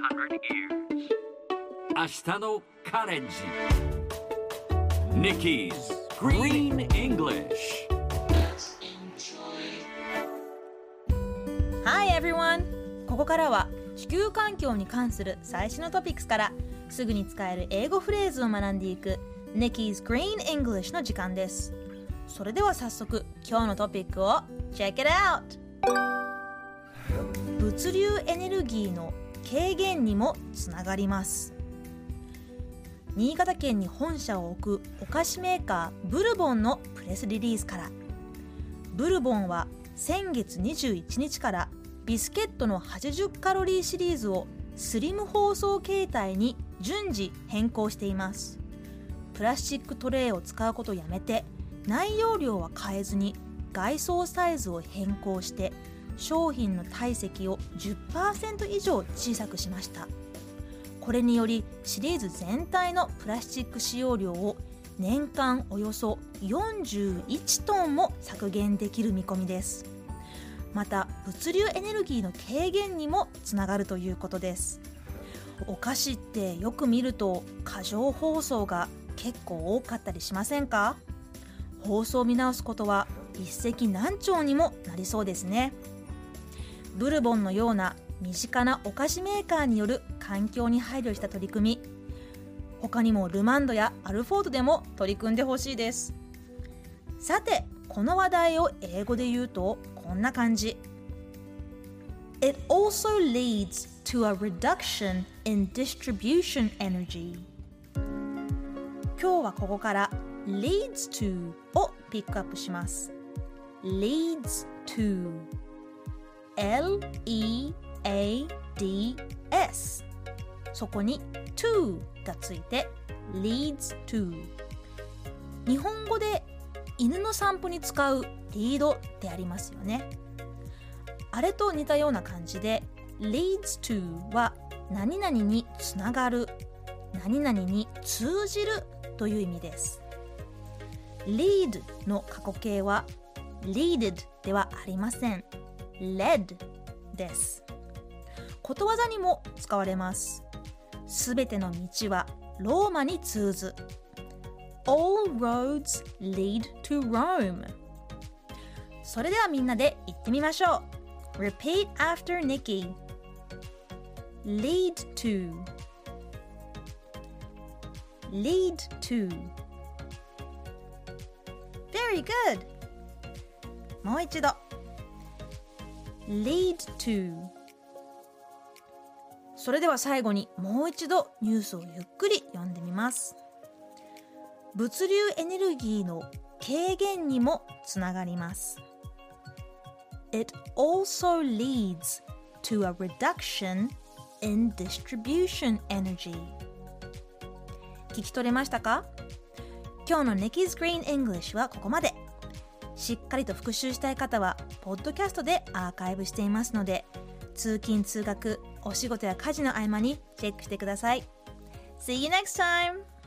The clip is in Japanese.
明日のカレンジ Nikki's Green English Hi everyone! ここからは地球環境に関する最新のトピックスからすぐに使える英語フレーズを学んでいく Nikki's Green English の時間です。それでは早速今日のトピックを Check it out! 物流エネルギーの軽減にもつながります。新潟県に本社を置くお菓子メーカーブルボンのプレスリリースから、ブルボンは先月21日からビスケットの80カロリーシリーズをスリム包装形態に順次変更しています。プラスチックトレイを使うことをやめて、内容量は変えずに外装サイズを変更して商品の体積を 10% 以上小さくしました。これによりシリーズ全体のプラスチック使用量を年間およそ41トンも削減できる見込みです。また物流エネルギーの軽減にもつながるということです。お菓子ってよく見ると過剰包装が結構多かったりしませんか？包装を見直すことは一石何鳥にもなりそうですね。ブルボンのような身近なお菓子メーカーによる環境に配慮した取り組み、他にもルマンドやアルフォートでも取り組んでほしいです。さて、この話題を英語で言うとこんな感じ。 It also leads to a reduction in distribution energy。 今日はここから leads to をピックアップします。 leads to L-E-A-D-S、 そこに to がついて leads to。 日本語で犬の散歩に使うリードってありますよね。あれと似たような感じで leads to は何々につながる、何々に通じるという意味です。 lead の過去形は leaded ではありません。led です。ことわざにも使われます。すべての道はローマに通ず。 All roads lead to Rome。 それではみんなで言ってみましょう。 Repeat after Nikki。 Lead to Lead to。 Very good。 もう一度lead to。 それでは最後にもう一度ニュースをゆっくり読んでみます。物流エネルギーの軽減にもつながります。 It also leads to a reduction in distribution energy。 聞き取れましたか？今日の Nikki's Green English はここまで。しっかりと復習したい方はポッドキャストでアーカイブしていますので、通勤通学、お仕事や家事の合間にチェックしてください。See you next time!